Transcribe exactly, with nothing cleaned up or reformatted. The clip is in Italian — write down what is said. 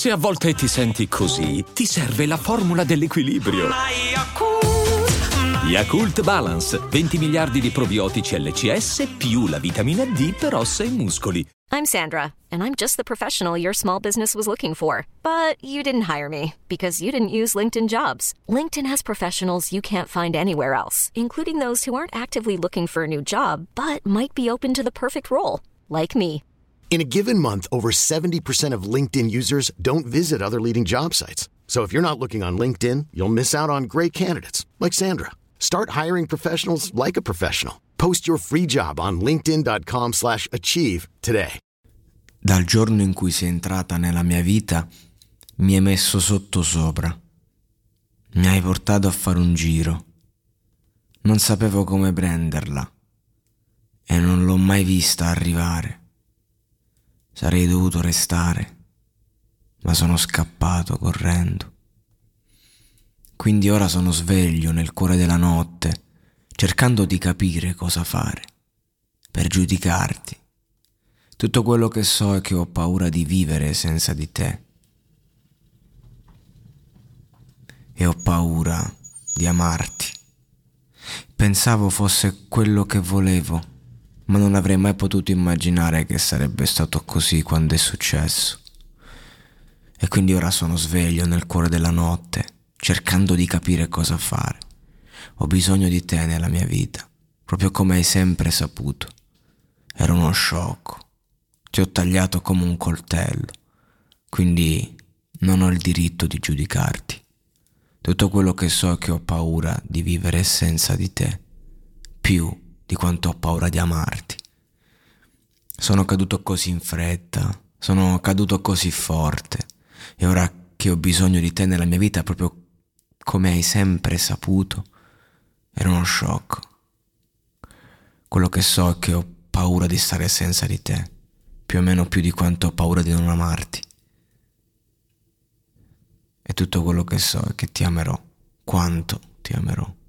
Se a volte ti senti così, ti serve la formula dell'equilibrio. Yakult Balance, venti miliardi di probiotici L C S più la vitamina D per ossa e muscoli. I'm Sandra, and I'm just the professional your small business was looking for. But you didn't hire me because you didn't use LinkedIn Jobs. LinkedIn has professionals you can't find anywhere else, including those who aren't actively looking for a new job, but might be open to the perfect role, like me. In a given month, over seventy percent of LinkedIn users don't visit other leading job sites. So if you're not looking on LinkedIn, you'll miss out on great candidates like Sandra. Start hiring professionals like a professional. Post your free job on linkedin.com slash achieve today. Dal giorno in cui sei entrata nella mia vita, mi hai messo sotto sopra. Mi hai portato a fare un giro. Non sapevo come prenderla e non l'ho mai vista arrivare. Sarei dovuto restare, ma sono scappato correndo. Quindi ora sono sveglio nel cuore della notte, cercando di capire cosa fare, per giudicarti. Tutto quello che so è che ho paura di vivere senza di te. E ho paura di amarti. Pensavo fosse quello che volevo, ma non avrei mai potuto immaginare che sarebbe stato così quando è successo. E quindi ora sono sveglio nel cuore della notte, cercando di capire cosa fare. Ho bisogno di te nella mia vita, proprio come hai sempre saputo. Era uno sciocco. Ti ho tagliato come un coltello, quindi non ho il diritto di giudicarti. Tutto quello che so è che ho paura di vivere senza di te, più di quanto ho paura di amarti. Sono caduto così in fretta, sono caduto così forte, e ora che ho bisogno di te nella mia vita, proprio come hai sempre saputo, era uno shock. Quello che so è che ho paura di stare senza di te, più o meno più di quanto ho paura di non amarti. E tutto quello che so è che ti amerò, quanto ti amerò.